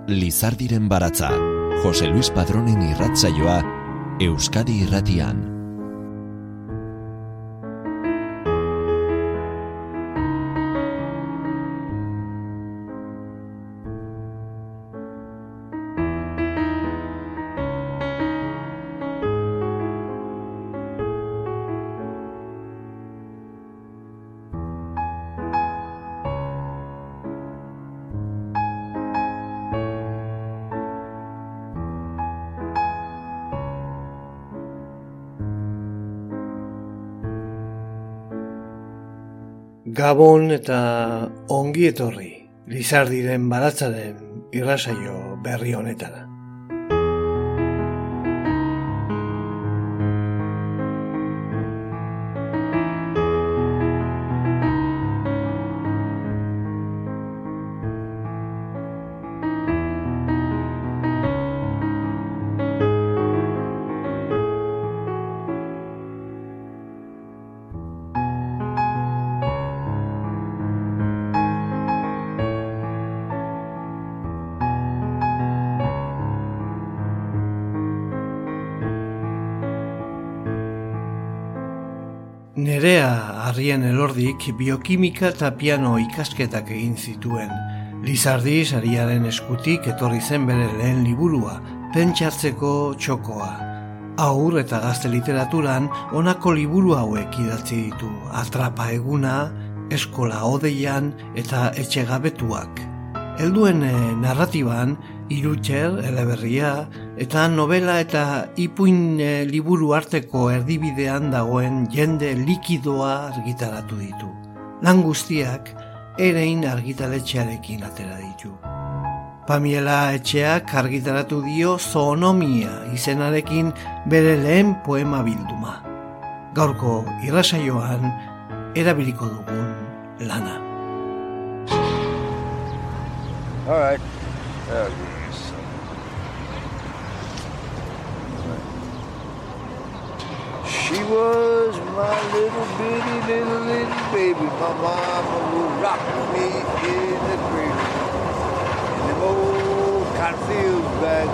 Lizardiren baratza, Jose Luis Padronen irratsaioa, Euskadi Irratian. Gabon eta ongi etorri, Lizardiren baratzaren irratsaio berri honetara. Nerea Arrien Elordik biokimika eta piano ikasketak egin zituen. Lizardi sariaren eskutik etorri zen bere lehen liburua, Pentsatzeko txokoa. Haur eta gazte literaturan honako liburu hauek idatzi ditu: Atrapa eguna, Eskola odeian eta Etxegabetuak. Helduen narratiban, Irutxer, eleberria, eta novela eta ipuin liburu arteko erdibidean dagoen jende likidoa argitaratu ditu. Lan guztiak Erein argitaletxearekin atera ditu. Pamiela Etxeak argitaratu dio Zoonomia izenarekin bere lehen poema bilduma. Gaurko irratsaioan erabiliko dugun lana. All right. She was my little bitty baby. My mama would rock me in the cradle. In them old cotton fields back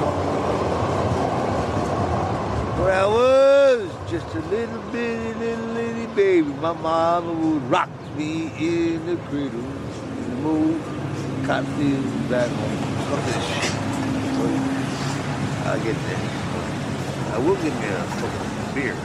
where I was just a little bitty baby. My mama would rock me in the cradle. In them old cotton fields back home. Look at this shit. I'll get there. I will get me a fucking beer.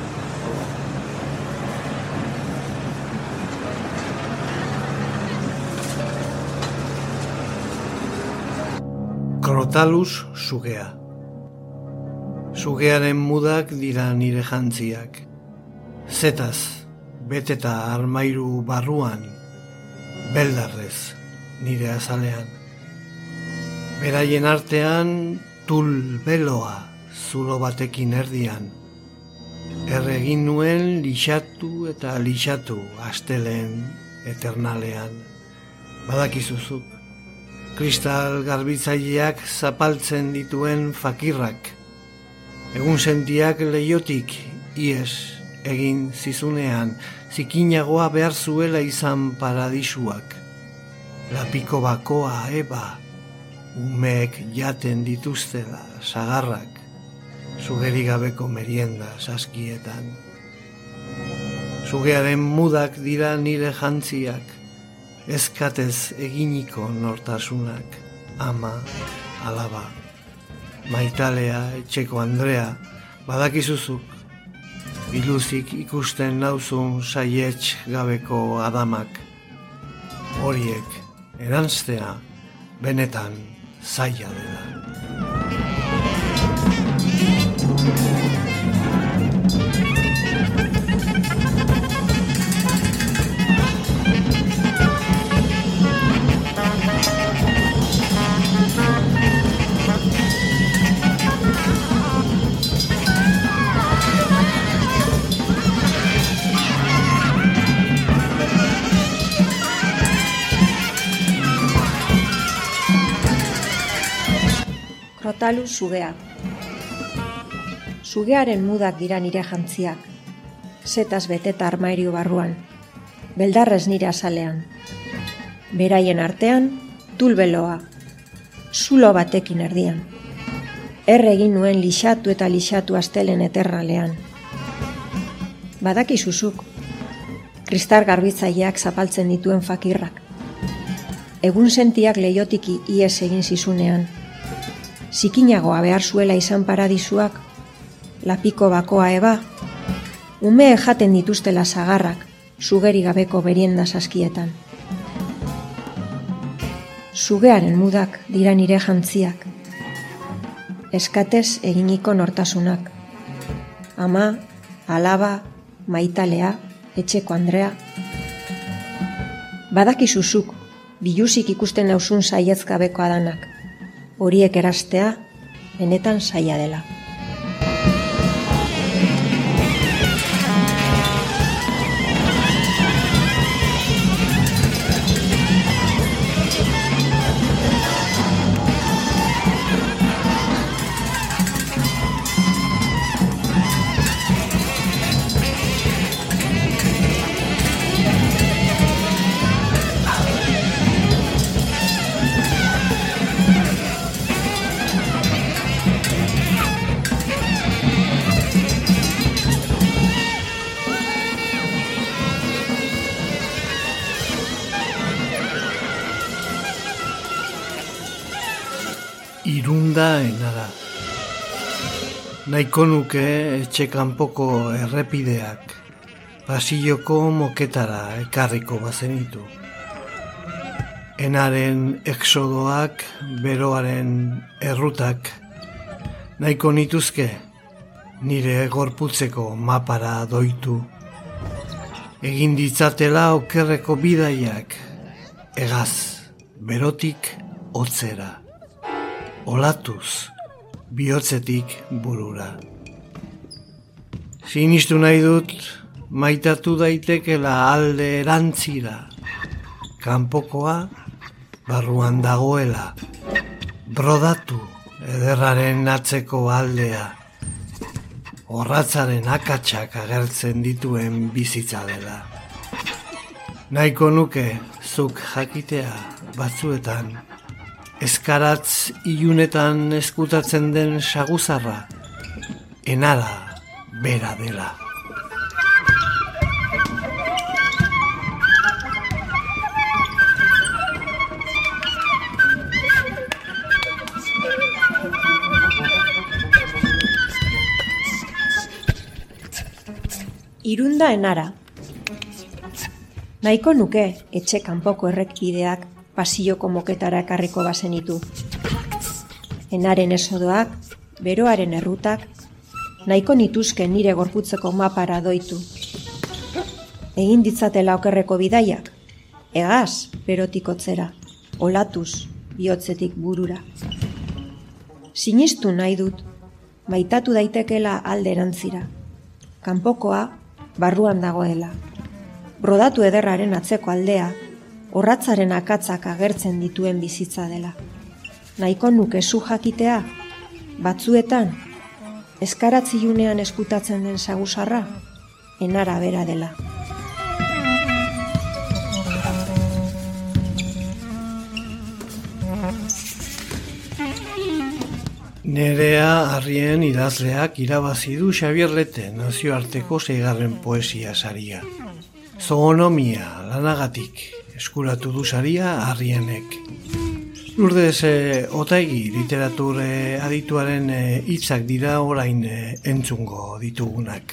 Krotalus sugea. Sugearen mudak dira nire jantziak. Zetaz, beteta armairu barruan, beldarrez nire azalean. Beraien artean tul beloa zulo batekin erdian. Erregin nuen lixatu eta lixatu asteleen eternalean. Badakizuzuk, kristal garbitzaileak zapaltzen dituen fakirrak. Egun sentiak leiotik ies egin zizunean, zikinagoa behar zuela izan paradisuak. Lapiko bakoa eba, umeek jaten dituztela sagarrak, sugerigabeko merienda saskietan. Sugearen mudak dira nire jantziak, ezkatez eginiko nortasunak, ama, alaba, maitalea, etxeko Andrea, badakizuzuk, biluzik ikusten nauzun saietx gabeko adamak, horiek eranztea benetan zaila dela. Krotalus sugea. Sugearen mudak dira nire jantziak, zetaz beteta armairu barruan, beldarrez nire azalean. Beraien artean, tulbeloa, zulo batekin erdian. Egin nuen lixatu eta lixatu astelen eterralean. Badakizuzuk, kristal garbitzaileak zapaltzen dituen fakirrak. Egun sentiak leiotiki ies egin zizunean. Zikinagoa behar zuela izan paradisuak, lapiko bakoa eba, ume jaten dituztela zagarrak, sugeri gabeko berienda saskietan. Sugearen mudak dira nire jantziak, eskatez eginiko nortasunak. Ama, alaba, maitalea, etxeko andrea. Badakizuzuk, biluzik ikusten nauzun saiezgabeko adanak. Horiek erastea, benetan saia dela. Irunda enara. Nahiko nuke etxe kanpoko errepideak, pasilloko moketara ekarriko bazenitu. Enaren exodoak, beroaren errutak, nahiko nituzke nire gorputzeko mapara doitu. Egin ditzatela okerreko bidaiak, egaz, berotik hotzera. Olatuz, bihotzetik burura. Sinistu nahi dut, maitatu daitekela alde erantzira. Kanpokoa, barruan dagoela. Brodatu, ederraren atzeko aldea. Orratzaren akatsak agertzen dituen bizitza dela. Nahiko nuke, zuk jakitea batzuetan, eskaratz ilunetan eskutatzen den saguzarra, enara bera dela. Irunda enara. Nahiko nuke etxe kanpoko errepideak pasilloko moketara ekarriko bazenitu. Enaren esodoak, beroaren errutak, nahiko nituzke nire gorputzeko mapara doitu. Egin ditzatela okerreko bidaiak, egaz berotik hotzera, olatuz bihotzetik burura. Sinistu nahi dut, maitatu daitekela alde erantzira. Kanpokoa barruan dagoela. Brodatu ederraren atzeko aldea, orratzaren akatzak agertzen dituen bizitza dela. Nahiko nuke zu jakitea, batzuetan, eskaratzilunean eskutatzen den saguzarra, enara bera dela. Nerea Arrien idazleak irabazi du Xabier Lete nazioarteko 6. poesia saria. Zoonomia lanagatik eskuratu du saria Arrienek. Lourdes Otaegi literatur adituaren hitzak dira orain entzungo ditugunak.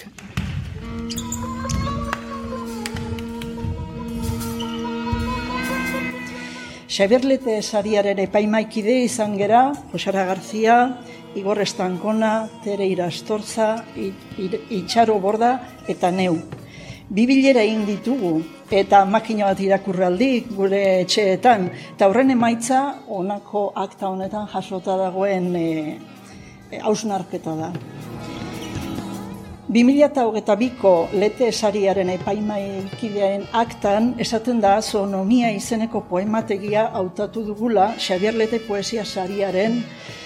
Xabier Lete sariaren epaimaikide izan gera, Josara Garzia, Igor Estankona, Tere Irastortza, Itxaro Borda eta neu. 2 bilera egin ditugu eta makina bat irakurraldi gure etxeetan. Eta horren emaitza honako akta honetan jasota dagoen hausnarketa da. 2022ko Lete sariaren epaimaikidearen aktan esaten da Zoonomia izeneko poemategia hautatu dugula Xabier Lete poesia sariaren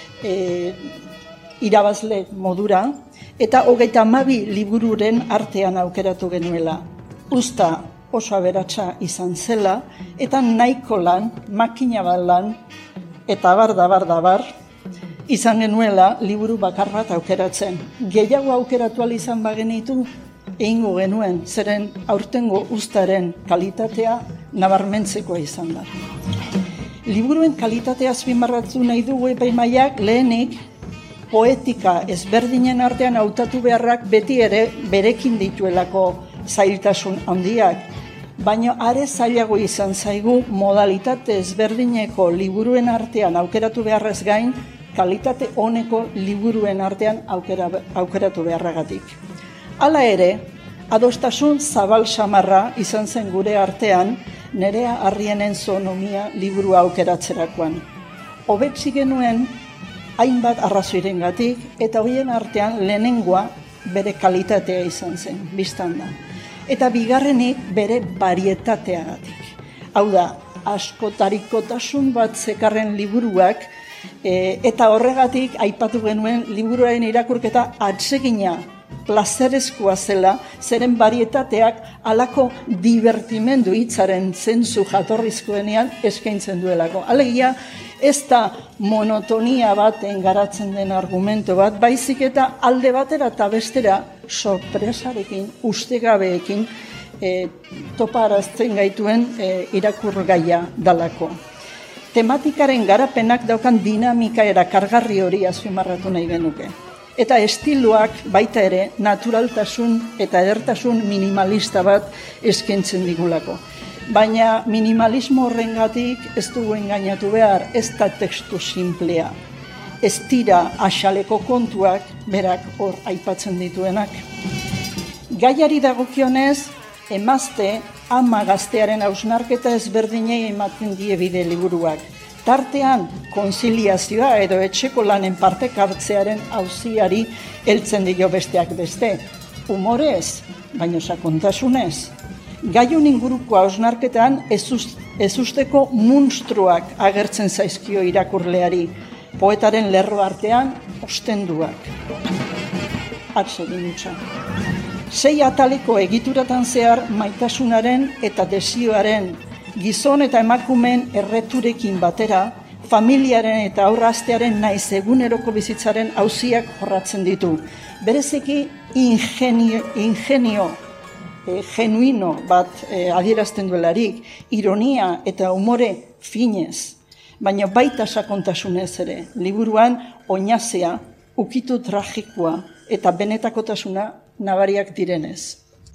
irabazle modura eta 32 libururen artean aukeratu genuela. Usta oso aberatsa izan zela eta nahiko lan, makina bat lan eta bar, izan genuela liburu bakar bat aukeratzen. Gehiago aukeratu ahal izan bagenitu, egingo genuen, zeren aurtengo uztaren kalitatea nabarmentzekoa izan da. Liburuen kalitatea azpimarratu nahi dugu epaimahaiak lehenik, poetika ezberdinen artean hautatu beharrak beti ere berekin dituelako zailtasun handiak, baina are zailago izan zaigu modalitate ezberdineko liburuen artean aukeratu beharrez gain, kalitate oneko liburuen artean aukeratu beharragatik. Hala ere, adostasun zabal samarra izan zen gure artean, Nerea Arrienen Zoonomia liburua aukeratzerakoan. Hobetsi genuen hainbat arrazoirengatik eta horien artean lehenengoa bere kalitatea izan zen, biztan da. Eta bigarrenik bere barietateagatik. Hau da, askotarikotasun bat zekarren liburuak eta horregatik aipatu genuen liburuaren irakurketa atsegina, plazerezkoa zela, zeren barietateak halako divertimendu hitzaren zentzu jatorrizkoenean eskaintzen duelako. Alegia, ez da monotonia baten garatzen den argumento bat, baizik eta alde batera eta bestera sorpresarekin, ustegabeekin toparazten gaituen irakurgaia dalako. Tematikaren garapenak daukan dinamika erakargarri hori azpimarratu nahi genuke. Eta estiloak baita ere naturaltasun eta edertasun minimalista bat eskaintzen digulako. Baina minimalismo horrengatik ez dugu engainatu behar, ez da tekstu simplea. Ez dira axaleko kontuak berak hor aipatzen dituenak. Gaiari dagokionez, emazte ama gaztearen hausnarketa ezberdinei ematen die bide liburuak. Tartean, konziliazioa edo etxeko lanen partek hartzearen auziari heltzen dio besteak beste. Humorez, baino sakontasunez. Gaiun inguruko hausnarketan ez usteko munstruak agertzen zaizkio irakurleari, poetaren lerro artean ostenduak. Atsegin utza. 6 ataleko egituratan zehar maitasunaren eta desioaren, gizon eta emakumeen erreturekin batera, familiaren eta aurraztearen naiz eguneroko bizitzaren auziak jorratzen ditu. Bereziki ingenio genuino bat adierazten duelarik, ironia eta umore finez, baina baita sakontasunez ere, liburuan oinazea, ukitu tragikoa eta benetakotasuna nabariak direnez.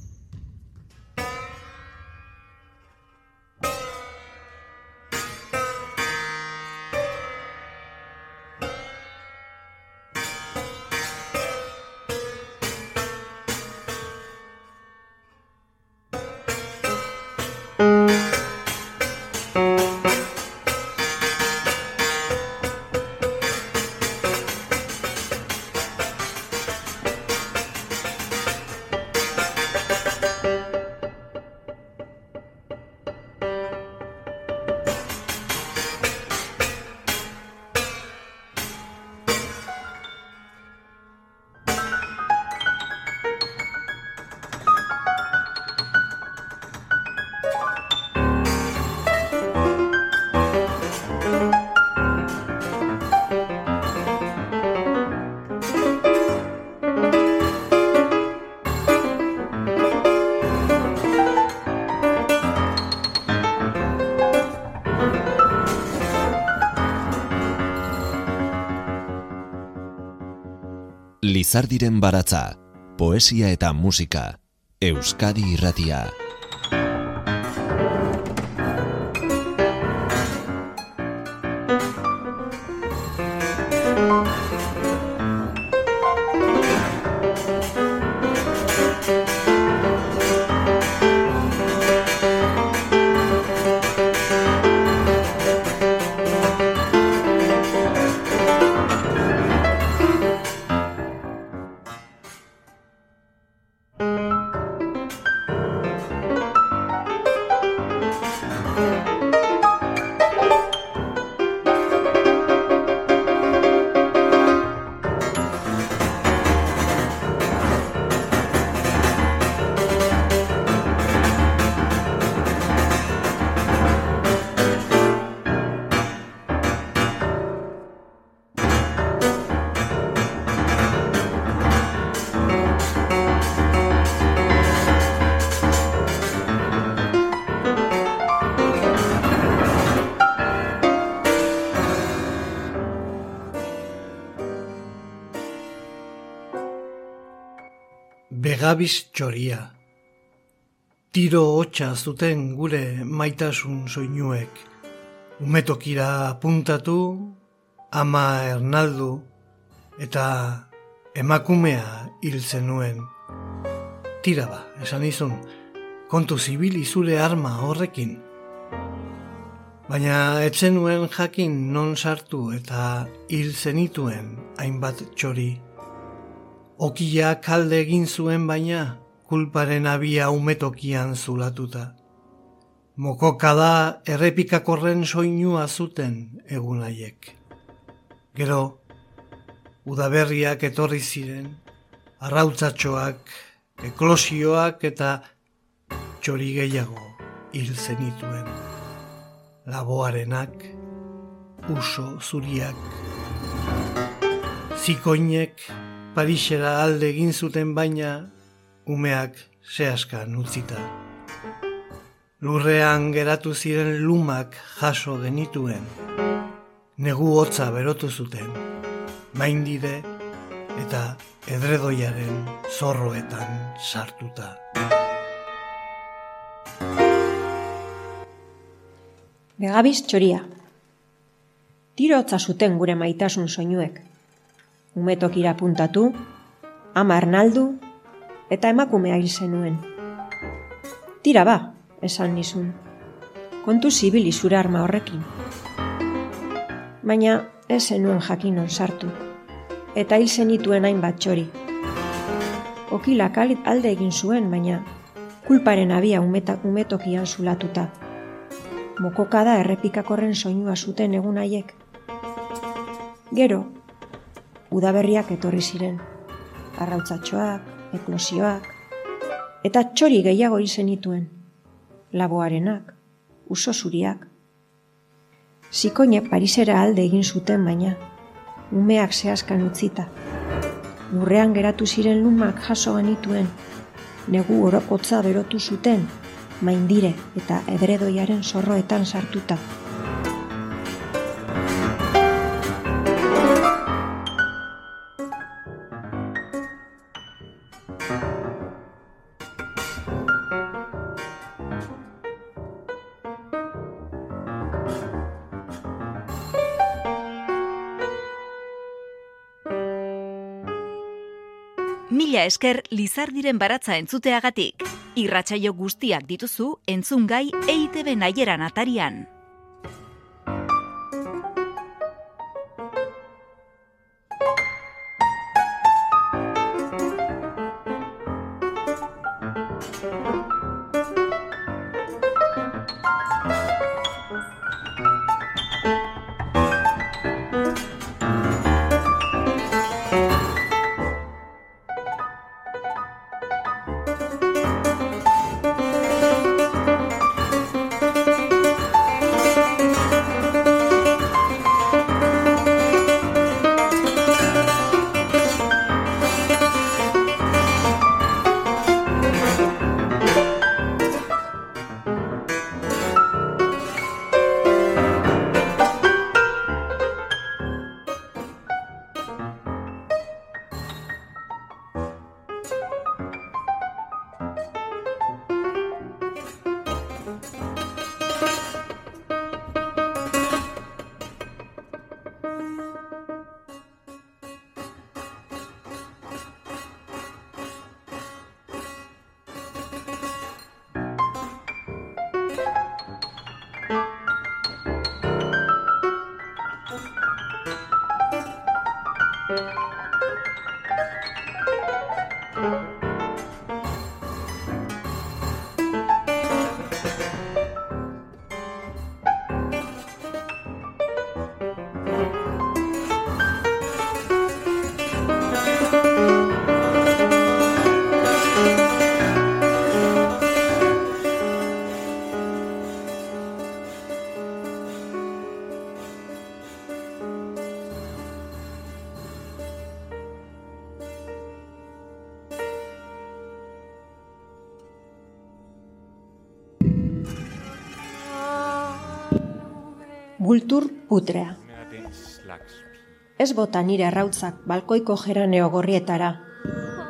Lizardiren baratza, poesia eta musika, Euskadi Irratia. Begabiz txoria. Tiro hotsa zuten gure maitasun soinuek. Umetokira apuntatu, ama Ernaldu eta emakumea hil zenuen. Tira ba, esan izun, kontu zibili zure arma horrekin. Baina etzenuen jakin non sartu eta hil zenituen hainbat txori. Okia kalde egin zuen baina, kulparen abia umetokian zulatuta. Mokokada errepikakorren soinua zuten egun haiek. Gero, udaberriak etorri ziren, arrautzatxoak, eklosioak eta txori gehiago hil zenituen. Laboarenak, uso zuriak. Zikoinek Parisera alde egin zuten baina, umeak zehaskan utzita. Lurrean geratu ziren lumak jaso genituen. Negu hotza berotu zuten, maindire eta edredoiaren zorroetan sartuta. Begabiz txoria. Tiro hotza zuten gure maitasun soinuek. Umetokira apuntatu, ama Ernaldu eta emakumea hil zenuen. Tira ba, esan nizun. Kontu zibili zure arma horrekin. Baina ez zenuen jakinon sartu. Eta hil zenituen hainbat txori. Okilak alde egin zuen, baina kulparen abia umetokian zulatuta. Mokokada errepikakorren soinua zuten egun haiek. Gero, udaberriak etorri ziren, arrautzatxoak, eklosioak, eta txori gehiago hil zenituen, laboarenak, uso zuriak. Zikoinek Parisera alde egin zuten baina, umeak zehaskan utzita. Lurrean geratu ziren lumak jaso genituen, negu hotza berotu zuten, maindire eta edredoiaren zorroetan sartuta. Mila esker Lizardiren baratza entzuteagatik. Irratsaio guztiak dituzu entzungai EITB Naieran atarian. Bultur putrea. Ez bota nire arrautzak balkoiko geraneo gorrietara.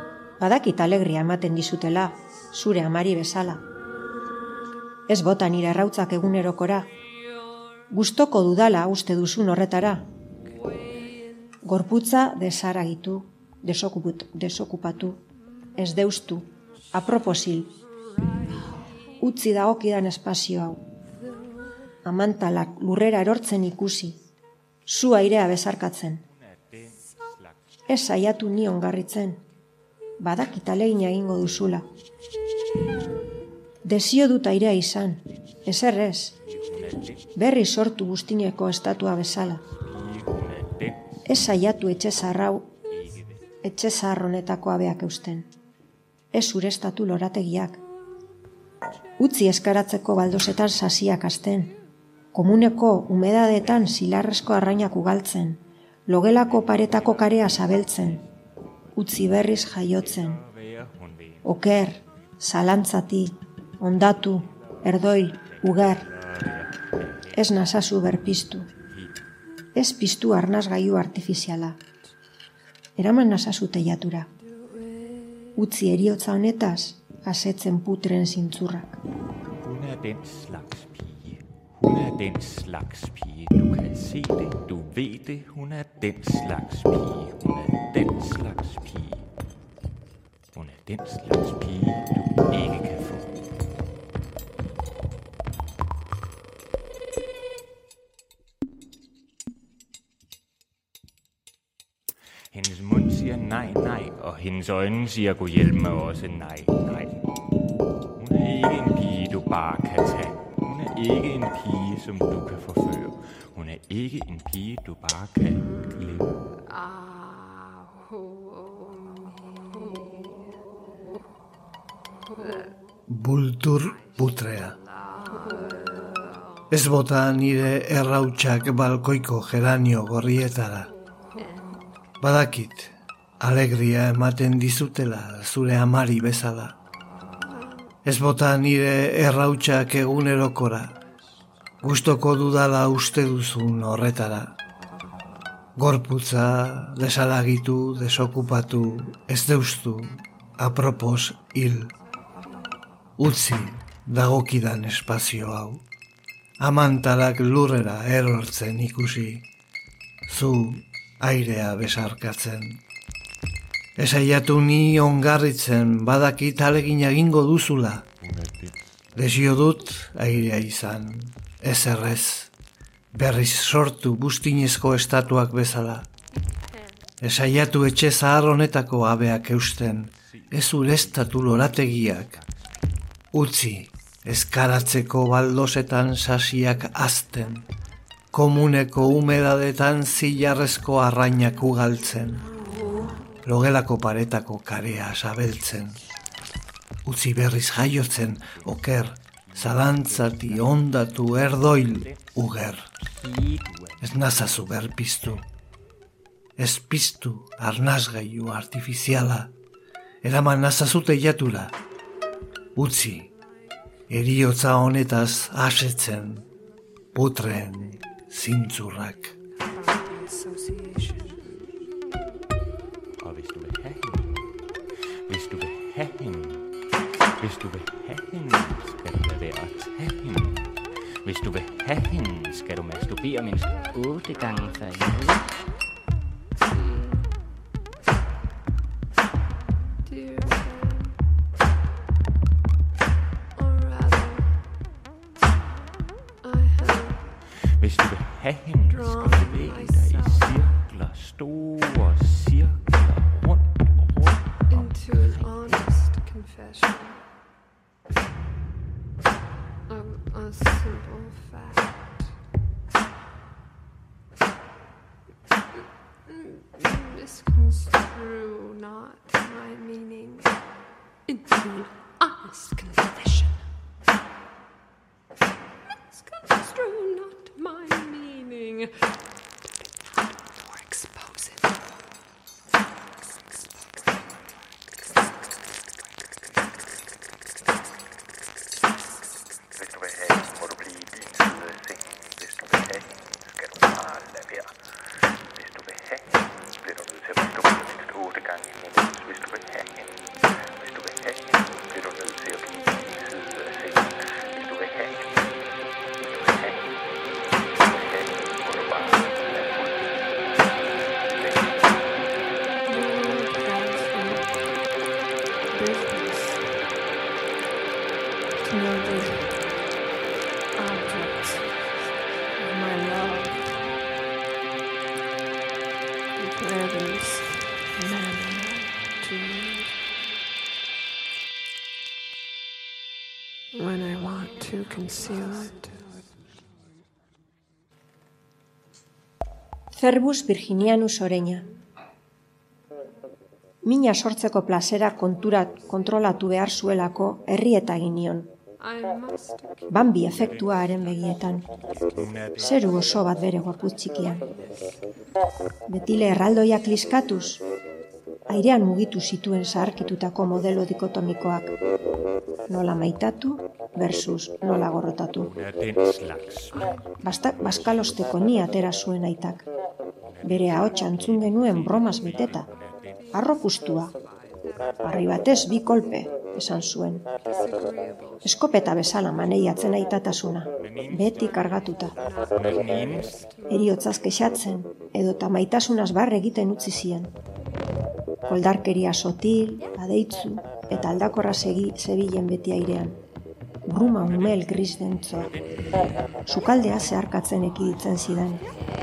Badakit alegria ematen dizutela, zure amari bezala. Ez bota nire errautzak egunerokora. Gustoko dudala uste duzun horretara. Gorputza desaragitu, desokupatu, ez deustu, aproposil. Utzi dagokidan espazio hau. Amantalak lurrera erortzen ikusi, zu airea bezarkatzen. Ez saiatu ni ongarritzen, badakit alegina egingo duzula. Desio dut airea izan, ezer ez, berri sortu guztineko estatua bezala. Ez saiatu etxe zaharronetako abeak eusten. Ez urestatu lorategiak. Utzi eskaratzeko baldosetan sasiak hasten. Komuneko umedadetan zilarrezko arrainak ugaltzen. Logelako paretako karea zabeltzen. Utzi berriz jaiotzen. Oker, zalantzati, ondatu, erdoil, uger. Ez nazazu berpiztu. Ez piztu arnazgailu artifiziala. Eraman nazazu teiatura. Utzi eriotza honetaz, asetzen putren zintzurrak. Hun den slags pige. Hun den slags pige. Du kan se det, du ved det. Hun den slags pige. Hun den slags pige. Hun den slags pige, du ikke kan få. Hendes mund siger nej, nej, og hendes øjne siger, gå hjælp mig også nej, nej. Hun ikke en pige, du bare kan tage. Hun ikke en pige, som du kan forføre. Hun ikke en pige, du bare kan glemme. Bultur putrea. Ez bota nire errautsak balkoiko geranio gorrietara. Badakit, alegria ematen dizutela zure amari bezala. Ez bota nire errautsak egunerokora, gustoko dudala uste duzun horretara. Gorputza desalagitu, desokupatu, ez deustu, apropos hil. Utzi dagokidan espazio hau, amantalak lurrera erortzen ikusi, zu airea besarkatzen. Esaiatu ni ongarritzen, badakit alegina egingo duzula. Desio dut airea izan, ez errez, berriz sortu bustinezko estatuak bezala. Esaiatu etxe zahar honetako abeak eusten, ez urestatu lorategiak. Utzi, eskaratzeko baldosetan sasiak azten, komuneko humedadetan zilarrezko arrainak ugaltzen, logelako paretako karea sabeltzen. Utzi berriz jaiotzen, oker, zalantzati, ondatu, erdoil, uger. Ez nazazu berpiztu. Ez piztu arnazgailu artifiziala, eraman nazazu teiatura. Utzi, eriotza honetaz asetzen, putren zintzurrak. Og hvis du vil have hende, hvis du vil have hende, skal du lade være at tage hende. Hvis du vil have hende, skal du masturbere mindst 8 gange før i ugen. Hvis du vil have hende, skal du bevæge dig i cirkler, store cirkler, rundt og rundt. Into an honest confession of a simple fact. Misconstrue not my meaning into an honest confession. Misconstrue not my meaning or expose it. Hvis du vil have hende, må du blive i din side af sengen. Hvis du vil have hende, skal du bare lade være. Hvis du vil have hende, bliver du nødt til at masturbere mindst 8 gange i måneden. Hvis du vil have hende. conceal it. Cervus virginianus oreña. Mina sortzeko plazera kontrolatu behar zuelako herrieta egin nion. Bambi efektua haren begietan. Zeru oso bat bere gorputz txikian. Betile erraldoiak liskatuz, airean mugitu zituen zaharkitutako modelo dikotomikoak. Nola maitatu versus nola gorrotatu. Baskalosteko ni atera zuen aitak. Bere ahotsa entzun genuen bromas beteta. Arrokustua. Harri batez 2 kolpe, esan zuen. Eskopeta bezala maneiatzen aitatasuna, beti kargatuta. Heriotzaz kexatzen, edota maitasunaz barre egiten utzi zien. Koldarkeria sotil, adeitzu, eta aldakorra zebilen beti airean. Bruma umel gris dentzoa. Sukaldea zeharkatzen ekiditzen zidan.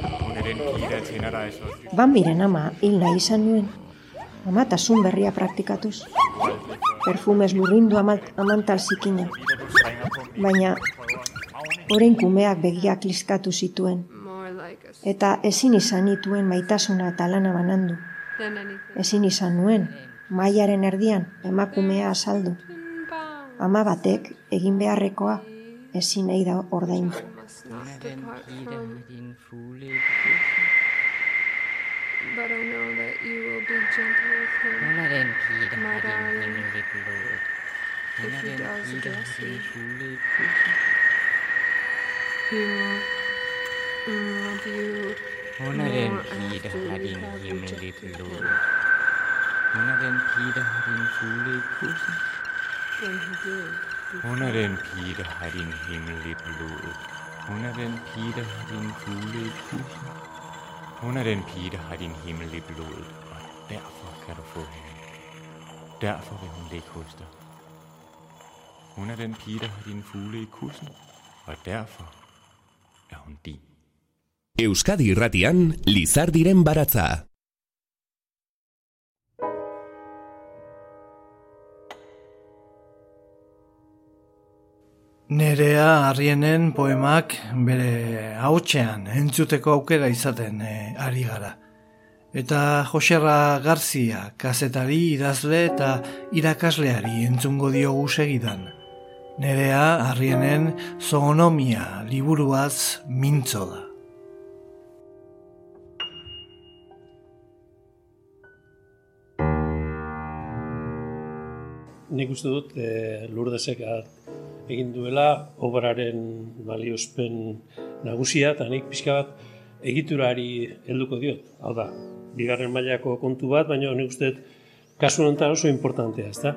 Bambiren ama hil nahi izan nuen. Amatasun berria praktikatuz. Perfumez lurrindu amantal zikina. Baina, orain kumeak begiak liskatu zituen. Eta ezin izan nituen maitasuna eta lana banandu. Ezin izan nuen, mailaren erdian emakumea azaldu. Ama batek egin beharrekoa ezin nahi da ordaindu. But I know that you will be gentle with him, my darling, if he does address you. He will love you more after you have rejected him. When he did, Under den pige har din himmel i blodet. Under den pige har din fugle i kussen. Under den pige har din himmel i blodet, og derfor kan du få hende. Derfor vil hun ligge hos dig. Under den pige har din fugle i kussen, og derfor er hun din. Euskadi Irratian, Lizardiren baratza. Nerea Arrienen poemak bere ahotsean entzuteko aukera izaten ari gara. Eta Joserra Garzia, kazetari, idazle eta irakasleari entzungo diogu segidan. Nerea Arrienen Zoonomia liburuaz mintzo da. Nik uste dut Lurdesek egin duela obraren baliozpen nagusia, eta nik pixka bat egiturari helduko diot. Hau da, bigarren mailako kontu bat, baina nik uste dut kasu honetan oso importantea, ezta?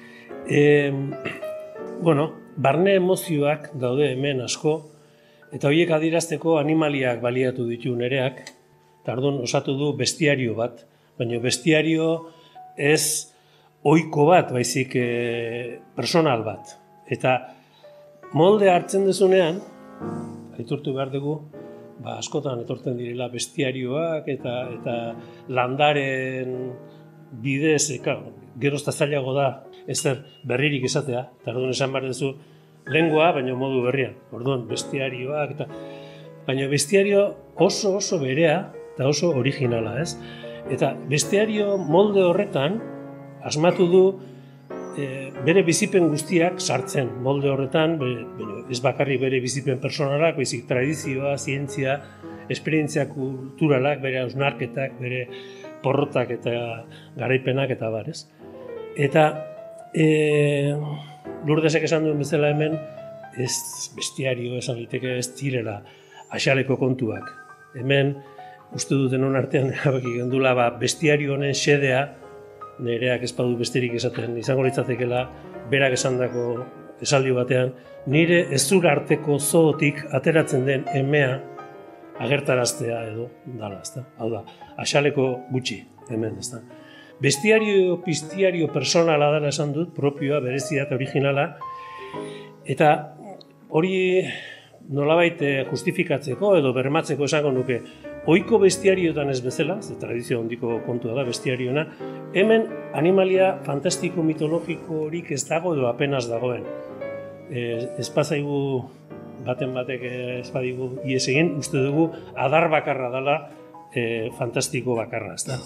Barne emozioak daude hemen asko, eta horiek adierazteko animaliak baliatu ditu Nereak, eta orduan osatu du bestiario bat, baina bestiario ez ohiko bat, baizik personal bat. Eta molde hartzen dezunean, aitortu behar dugu, askotan etortzen direla bestiarioak eta landaren bidez, gerozta zailago da, ezer berririk esatea, eta orduan esan behar duzu lengua, baina modu berrian. Orduan bestiarioak, baina bestiario oso berea eta oso originala, ez? Eta bestiario molde horretan asmatu du bere bizipen guztiak sartzen molde horretan, ez bakarrik bere bizipen personalak, baizik tradizioa, zientzia, esperientzia kulturalak, bere hausnarketak, bere porrotak eta garaipenak eta barez. Eta Lurdesek esan duen bezala hemen, ez bestiario esan liteke ez direla axaleko kontuak. Hemen, uste duten hon artean erabaki gendula, bestiario honen xedea, Nereak ez badu besterik esaten, izango litzatekela berak esandako esaldi batean, nire ezur arteko zootik ateratzen den emea agertaraztea edo dala, ezta? Hau da, axaleko gutxi hemen, ezta? Bestiario, pistiario personala dela esan dut, propioa, berezia eta originala, eta hori nolabait justifikatzeko edo bermatzeko esango nuke, ohiko bestiarioetan ez bezala, ze tradizio handiko kontua da bestiariona, hemen animalia fantastiko mitologikorik ez dago edo apenas dagoen. espazaigu baten batek espadigu ies egin, uste dugu adar bakarra dela fantastiko bakarra, ezta.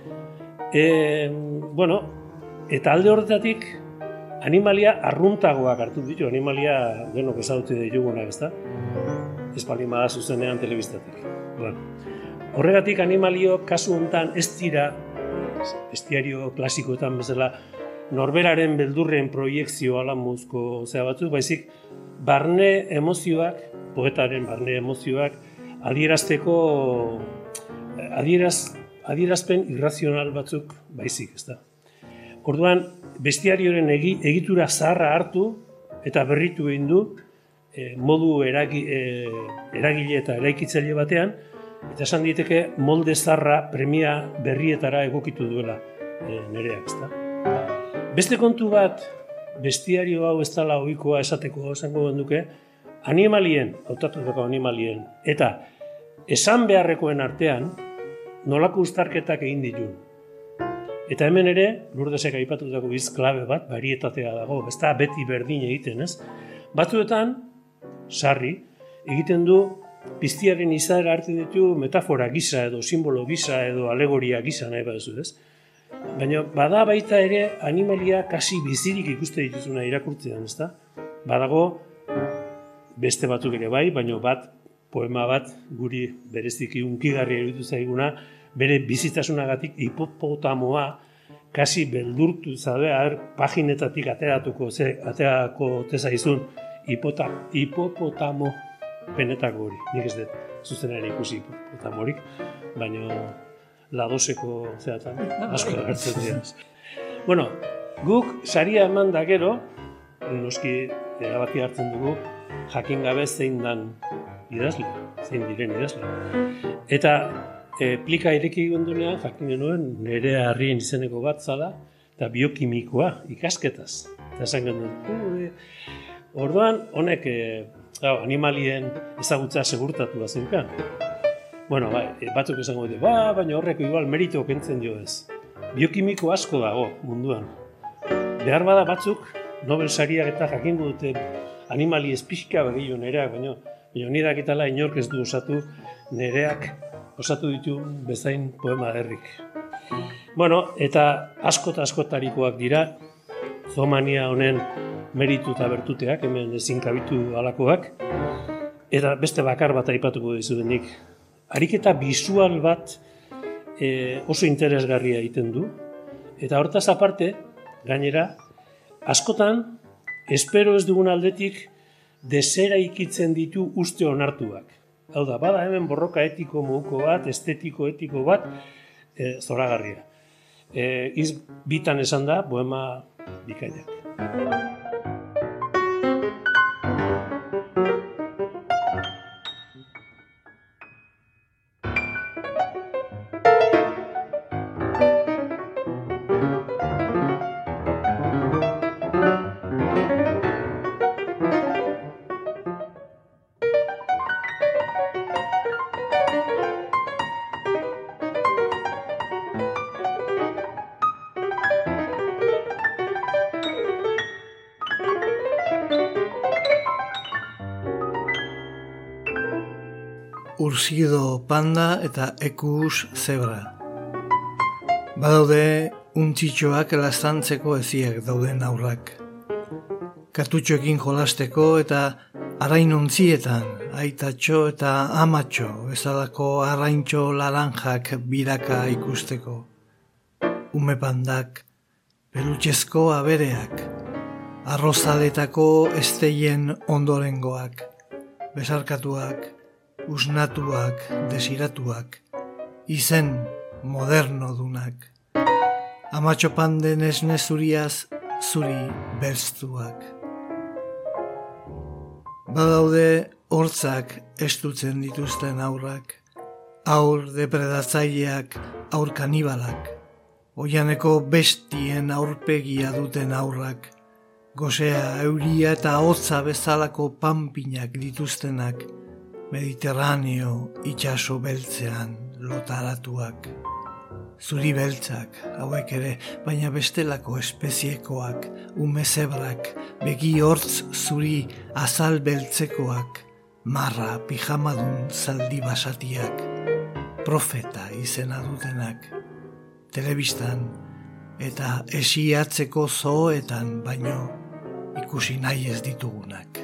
Bueno, eta alde horretatik animalia arruntagoak hartu ditu, animalia denok ezagutu ditugunak, ezta? Ez palima da zuzenean telebistatik. Bueno, horregatik animalio kasu honetan ez dira bestiario klasikoetan bezala norberaren beldurren proiekzio alamuzko batzuk, baizik barne emozioak, poetaren barne emozioak adierazteko adierazpen irrazional batzuk baizik, ezta. Orduan, bestiarioren egitura zaharra hartu eta berritu egin du modu eragile eta eraikitzaile batean, eta esan diteke molde zaharra premia berrietara egokitu duela nereak, ezta. Beste kontu bat, bestiario hau ez dela ohikoa esateko esango genduke, animalien, hautatutako animalien, eta esan beharrekoen artean, nolako uztarketak egin ditun. Eta hemen ere, Lurdesek aipatutako hitz klabe bat, barietatea dago, ez da beti berdin egiten, ez? Batzuetan, sarri, egiten du piztiaren izaera hartzen ditu metafora gisa edo simbolo gisa edo alegoria gisa nahi baduzu, ez? Baina bada baita ere animalia kasi bizirik ikuste dituzuna irakurtzean, ezta? Badago beste batzuk ere bai, baina poema bat guri bereziki hunkigarria iruditu zaiguna, bere bizitasunagatik hipopotamoa kasi beldurtu zaude, paginetatik aterako tezaizun hipopotamo benetako hori. Nik ez dut zuzenera ikusi hipopotamorik, baina ladoseko zeatan asko agertzen dira. Bueno, guk saria eman da gero, noski erabaki hartzen dugu, jakin gabe zein dan idazle, zein diren idazle. Eta plika ireki gendunean, jakin genuen, Nerea Harrien izeneko bat zala, eta biokimikoa, ikasketaz. Eta esan genuen, orduan, honek animalien ezagutza segurtatu zenkan. Bueno, batzuk esango dute, baina horreko igual merito kentzen dio ez. Biokimiko asko dago munduan. Behar bada batzuk, Nobel sariak eta jakingo dute animali ez pixka begio nereak, baina nirak itala inork ez du osatu, nereak osatu ditu bezain poema derrik. Bueno, eta askotarikoak dira, zoomania honen meritu eta bertuteak, hemen ezin kabitu alakoak, eta beste bakar bat aipatuko dizudenik. Ariketa bisual bat oso interesgarria egiten du, eta hortaz aparte, gainera, askotan, espero ez dugun aldetik, desera ikitzen ditu uste onartuak. Hau da, bada hemen borroka etiko moduko bat, estetiko etiko bat, zoragarria. Bitan esan da, poema bikainak. Ursido panda eta ekus zebra. Badaude untzitxoak laztantzeko eziak dauden aurrak. Kartutxoekin jolasteko eta arainontzietan, aitatxo eta amatxo, bezalako arraintxo laranjak biraka ikusteko. Ume pandak, pelutxezko abereak, arrozaletako esteien ondorengoak, besarkatuak, usnatuak, desiratuak, izen modernodunak. Amatxo panden esne zuriaz, zuri belztuak. Badaude hortzak estutzen dituzten aurrak, aur depredatzaileak, aur kanibalak, oianeko bestien aurpegia duten aurrak, gozea, euria eta hotza bezalako panpinak dituztenak, Mediterraneo itxaso beltzean lotaratuak. zuri beltzak, hauek ere, baina bestelako espeziekoak, ume zebrak, begi hortz zuri azal beltzekoak, marra pijamadun zaldi basatiak, profeta izena dutenak, telebistan eta esiatzeko zooetan baino ikusi nahi ez ditugunak.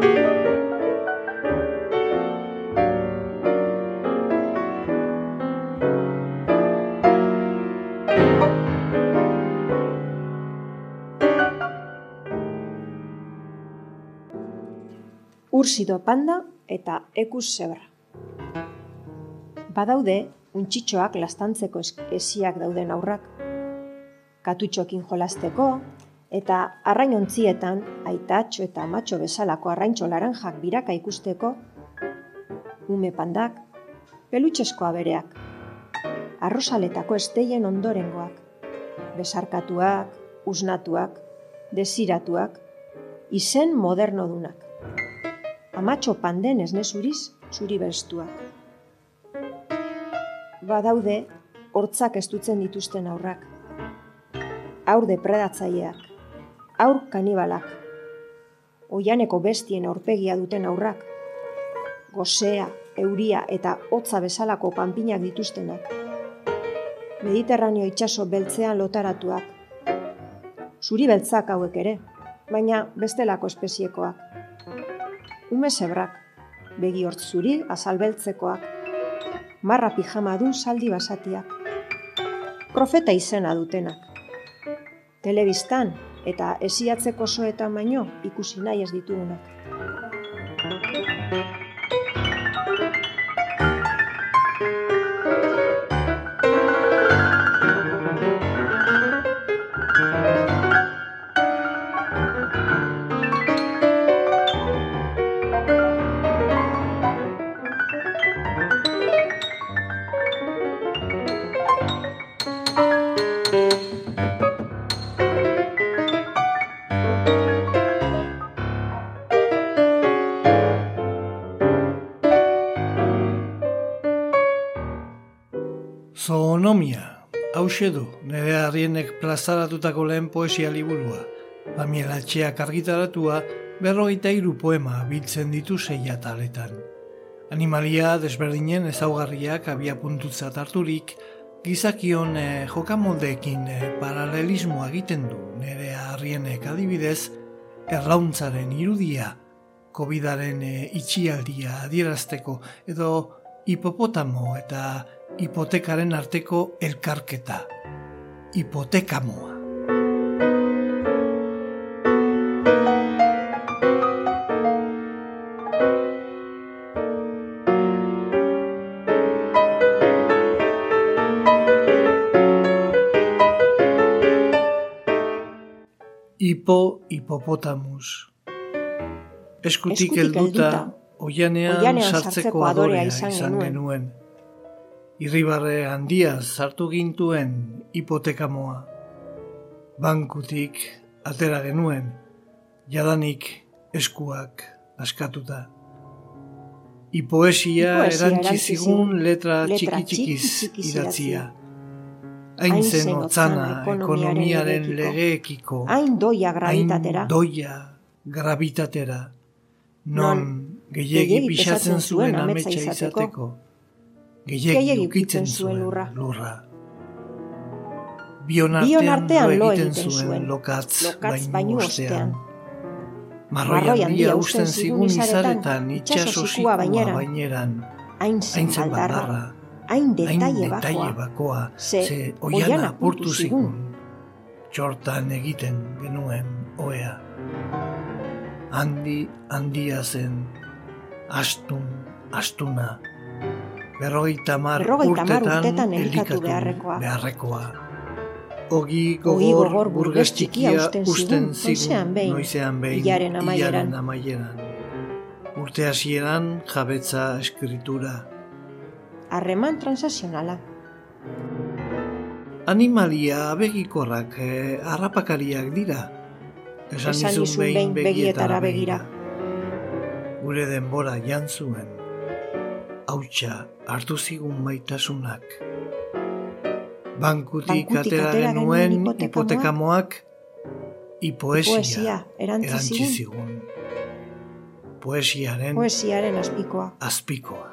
Ursido panda eta ekus zebra. Badaude, untxitxoak lastantzeko esiak dauden aurrak, katutxokin jolasteko, eta arrainontzietan aitatxo eta amatxo bezalako arraintxo laranjak biraka ikusteko, ume pandak, pelutxesko abereak, arrosaletako esteien ondorengoak, besarkatuak, usnatuak, desiratuak, izen modernodunak. Amatxo panden esne zuriz, zuri bestuak. Badaude, hortzak estutzen dituzten aurrak. Aur depredatzaileak, aur kanibalak, oianeko bestien aurpegia duten aurrak, gozea, euria eta hotza bezalako panpinak dituztenak, Mediterraneo itsaso beltzean lotaratuak, zuri beltzak hauek ere, baina bestelako espeziekoak, ume zebrak, begi hortz zuri azal beltzekoak, marra pijamadun zaldi basatiak, profeta izena dutenak, telebistan eta esiatzeko zoetan baino ikusi nahi ez ditugunak. Zoonomia, hauxe du, nire Arrienek plazaratutako lehen poesia liburua. Pamiela Etxeak argitaratua 53 poema biltzen ditu 6 ataletan. Animalia desberdinen ezaugarriak abiapuntutzat harturik, gizakion jokamoldeekin paralelismoa egiten du nire Arrienek adibidez, erlauntzaren irudia, COVIDaren itxialdia adierazteko edo hipopotamo eta hipotekaren arteko elkarketa, hipotekamoa. Hipopotamus. Eskutik helduta, oianean sartzeko adorea izan genuen. Irribarre handia sartu gintuen hipotekamoa. Bankutik atera genuen, jadanik eskuak askatuta. Hipoesia erantzi zigun letra txiki-txikiz idatzia. Hain zen otzana ekonomiaren legeekiko, hain doia gravitatera, non gehiegi pixatzen zuen ametsa izateko, gehiegi ukitzen zuen lurra. Bion artean lo egiten zuen lokatz bainu ostean. Marroi handia usten zigun izaretan itxasosikoa baineran, hain zen baldarra, hain detaile bakoa, ze oian apurtu zigun, txortan egiten genuen oea. Handia zen, astuna, 50 urtetan elikatu beharrekoa. Ogi gogor burges txikia usten zigun, noizean behin, hilaren amaieran. Urte hasieran jabetza eskritura. Harreman transazionala. Animalia abegikorrak harrapakariak dira. Esan nizun behin begietara begira. Gure denbora jantzuen. Hautsa hartu zigun maitasunak. Bankutik atera genuen hipotekamoak poesia erantzi zigun. Poesiaren azpikoa.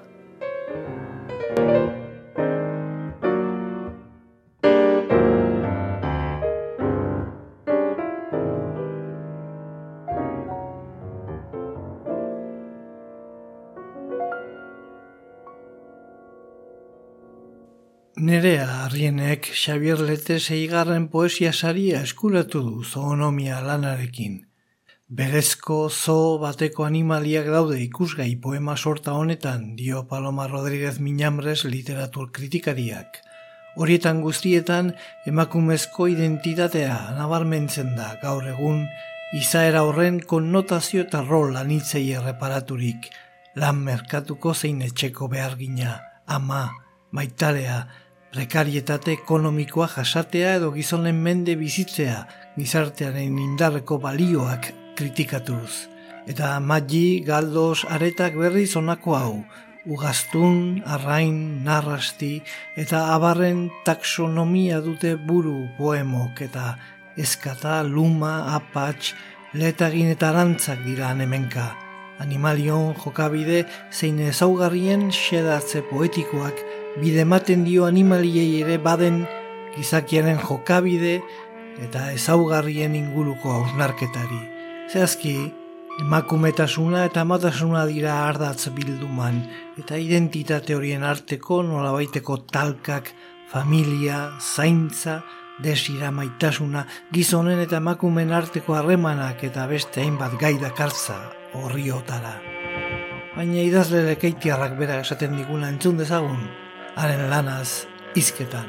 Nerea Arrienek Xabier Lete 6. poesia saria eskuratu du zoonomia lanarekin. Berezko zoo bateko animaliak daude ikusgai poema sorta honetan, dio Paloma Rodríguez Miñambres literatur kritikariak. Horietan guztietan emakumezko identitatea nabarmentzen da gaur egun, izaera horren konnotazio eta rol anitzei erreparaturik, lan merkatuko zein etxeko behargina, ama, maitarea, prekarietate ekonomikoa jasatea edo gizonen mende bizitzea, gizartearen indarreko balioak kritikatuz. Eta Maggi, Galdos, Aretak berriz honako hau, ugaztun, arrain, narrasti eta abarren taxonomia dute buru poemok eta eskata, luma, apatx, letagin eta arantzak dira hemenka. Animalion jokabide zein ezaugarrien xedatze poetikoak bide ematen dio animaliei ere baden gizakiaren jokabide eta ezaugarrien inguruko hausnarketari. Zehazki, emakumetasuna eta amatasuna dira ardatz bilduman eta identitate horien arteko nolabaiteko talkak, familia, zaintza, desira maitasuna, gizonen eta emakumen arteko harremanak eta beste hainbat gai dakartza horriotara. Baina idazle lekeitiarrak bera esaten diguna entzun dezagun, haren lanaz hizketan.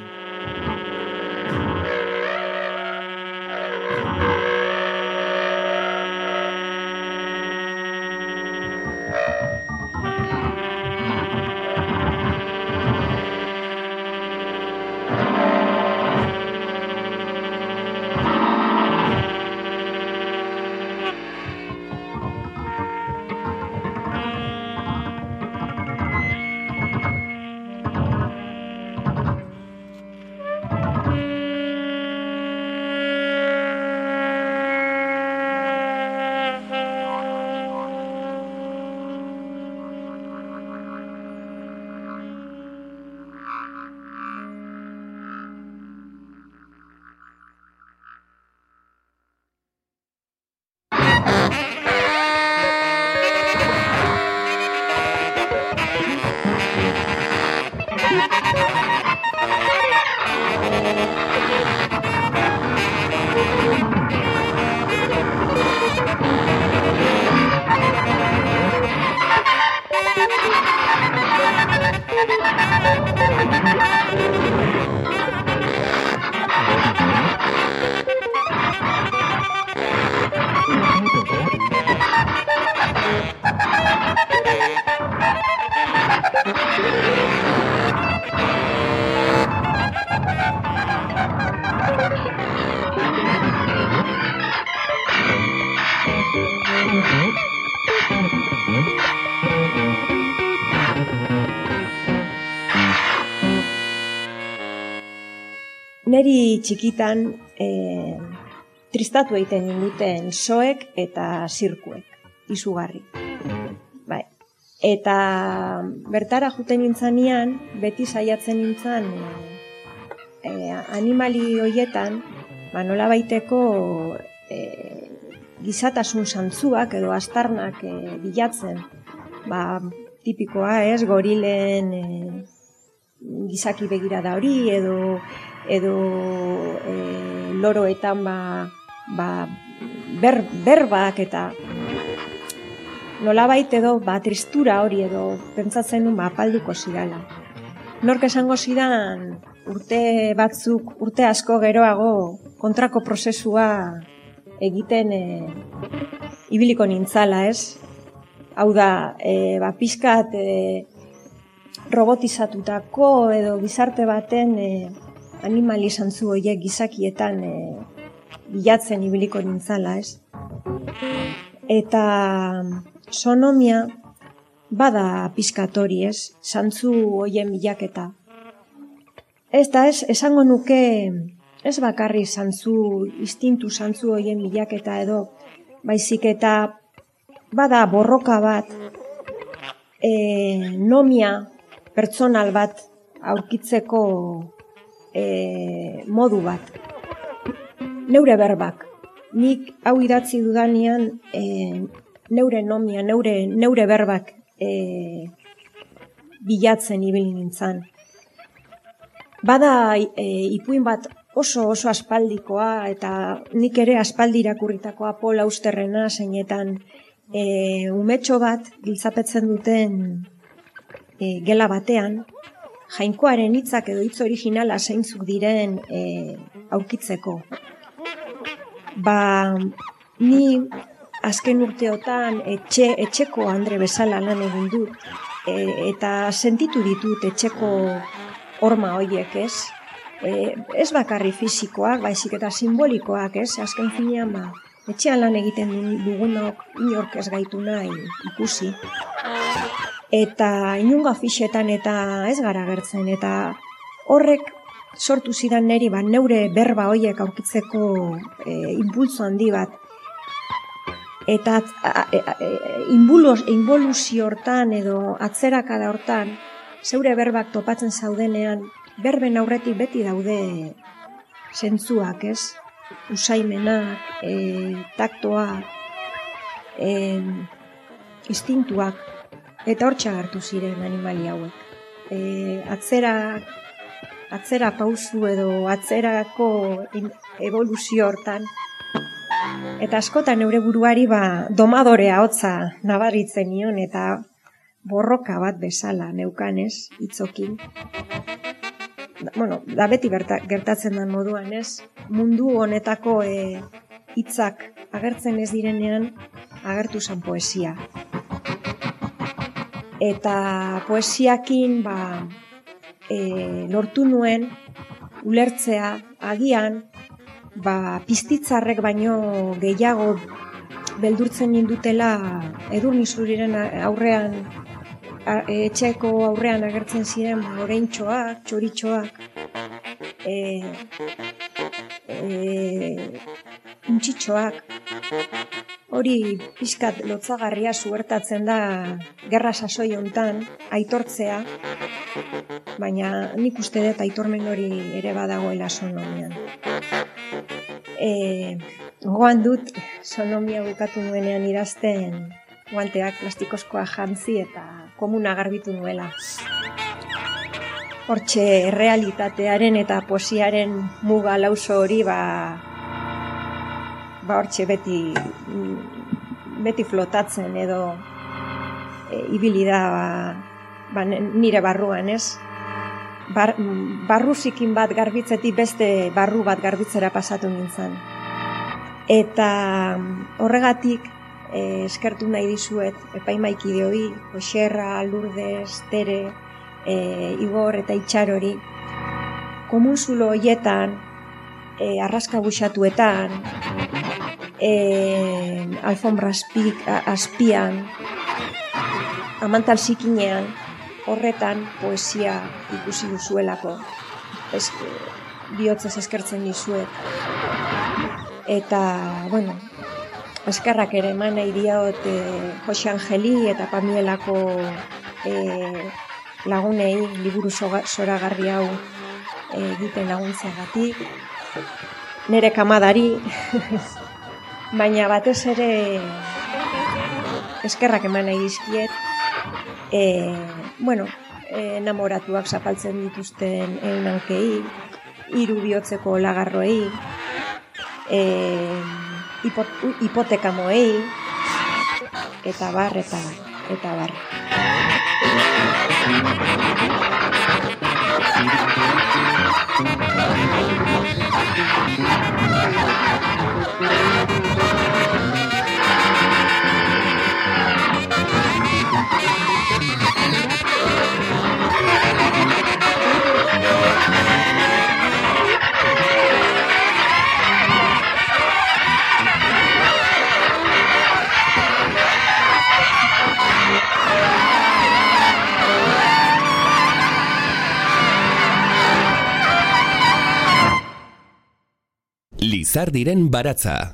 Neri txikitan tristatu egiten ninduten soek eta zirkuek, izugarri. Bai. Eta bertara juten nintzanean, beti saiatzen nintzan animali hoietan, nolabaiteko gizatasun zantzuak edo astarnak bilatzen. Tipikoa ez, gorilen gizaki begirada hori edo loroetan berbak eta nolabait edo tristura hori edo pentsatzen nuen apalduko zidala. Nork esango zidan urte asko geroago kontrako prozesua egiten ibiliko nintzala, ez? Hau da, pixkat robotizatutako edo gizarte baten animali zantzu horiek gizakietan bilatzen ibiliko nintzala, ez? Eta sonomia bada pixkat hori, ez? Zantzu horien bilaketa. esango nuke, ez bakarri instintu zantzu horien bilaketa edo, baizik eta bada borroka bat, nomia pertsonal bat aurkitzeko modu bat. Neure berbak. Nik hau idatzi dudanean neure nomia, neure berbak bilatzen ibili nintzen. Bada ipuin bat oso aspaldikoa eta nik ere aspaldi irakurritakoa Paul Austerrena zeinetan umetxo bat giltzapetzen duten gela batean, Jainkoaren hitzak edo hitz originala zeintzuk diren aurkitzeko. Ni azken urteotan etxeko Andre bezala lan egin dut eta sentitu ditut etxeko horma horiek, ez? Ez bakarri fisikoak, baizik eta simbolikoak, ez? Azken finean, etxean lan egiten dugunok inork ez gaitu nahi ikusi. Eta inunga fixetan eta ez gara gertzen, eta horrek sortu zidan niri neure berba horiek aurkitzeko impulso handi bat. Eta involuzio hortan edo atzerakada hortan, zeure berbak topatzen zaudenean, berben aurretik beti daude zentzuak, ez? Usaimenak, taktoak, instintuak, eta hor txagartu ziren animali hauek. Atzera pausu edo atzerako evoluzio hortan, eta askotan neure buruari domadorea hotza nabaritzen nion eta borroka bat bezala neukanez, hitzokin. Da beti gertatzen den moduan, ez? Mundu honetako hitzak agertzen ez direnean, agertu zen poesia. Eta poesiakin lortu nuen ulertzea agian piztitzarrek baino gehiago beldurtzen nindutela Edurnizuriren aurrean, etxeko aurrean agertzen ziren oreintxoak, txoritxoak, untxitxoak. Hori pixkat lotzagarria zuertatzen da gerra sasoi hontan aitortzea, baina nik uste dut aitormen hori ere badagoela sonomian. Gogoan dut sonomia bukatu nuenean idazten guanteak plastikozkoa jantzi eta komuna garbitu nuela. Hortxe errealitatearen eta poesiaren muga lauso hori hortxe beti flotatzen edo ibili da nire barruan, ez? Barruzikin bat garbitzetik beste barru bat garbitzera pasatu nintzen. Eta horregatik eskertu nahi dizuet epaimaikideoi, Joxerra, Lourdes, Tere, Igor eta Itxarori, komunzulo horietan, arraska buxatuetan, alfombra azpian, amantal zikinean, horretan poesia ikusi duzuelako. Bihotzez eskertzen dizuet. Eta, eskerrak ere eman nahi diot Jose Angeli eta Pamielako lagunei liburu zoragarri hau egiten laguntzeagatik. Nere kamadari, baina batez ere eskerrak eman nahi dizkiet, enamoratuak zapaltzen dituzten egunankei, 3 bihotzeko lagarroei, hipotekamoei, eta bar. Lizardiren baratza.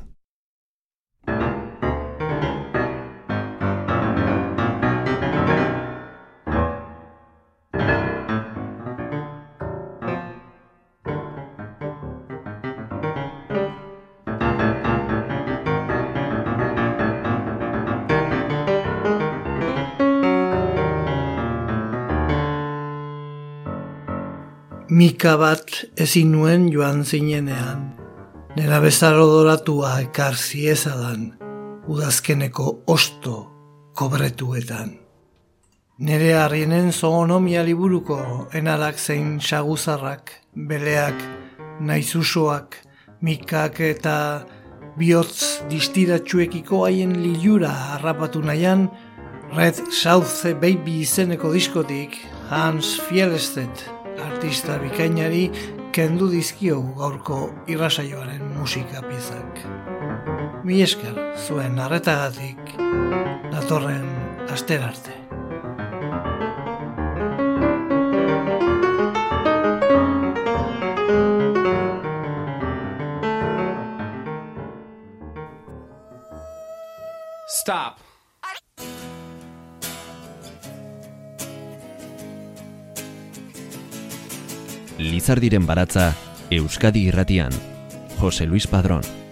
Mika bat ezin nuen joan zinenean, nera bezar odoratua ekar ziezadan, udazkeneko osto kobretuetan. Nere harrienen zoonomia liburuko enalak zein saguzarrak, beleak, naizusoak, mikak eta bihotz distiratsuekiko haien lilura harrapatu nahian, Red South Baby izeneko diskotik Hans Fielstedt artista bikainari kendu dizkiogu gaurko irrasaioaren musika piezak. Mil esker zuen arretagatik datorren astera arte. Stop. Lizardiren baratza, Euskadi Irratian, Jose Luis Padrón.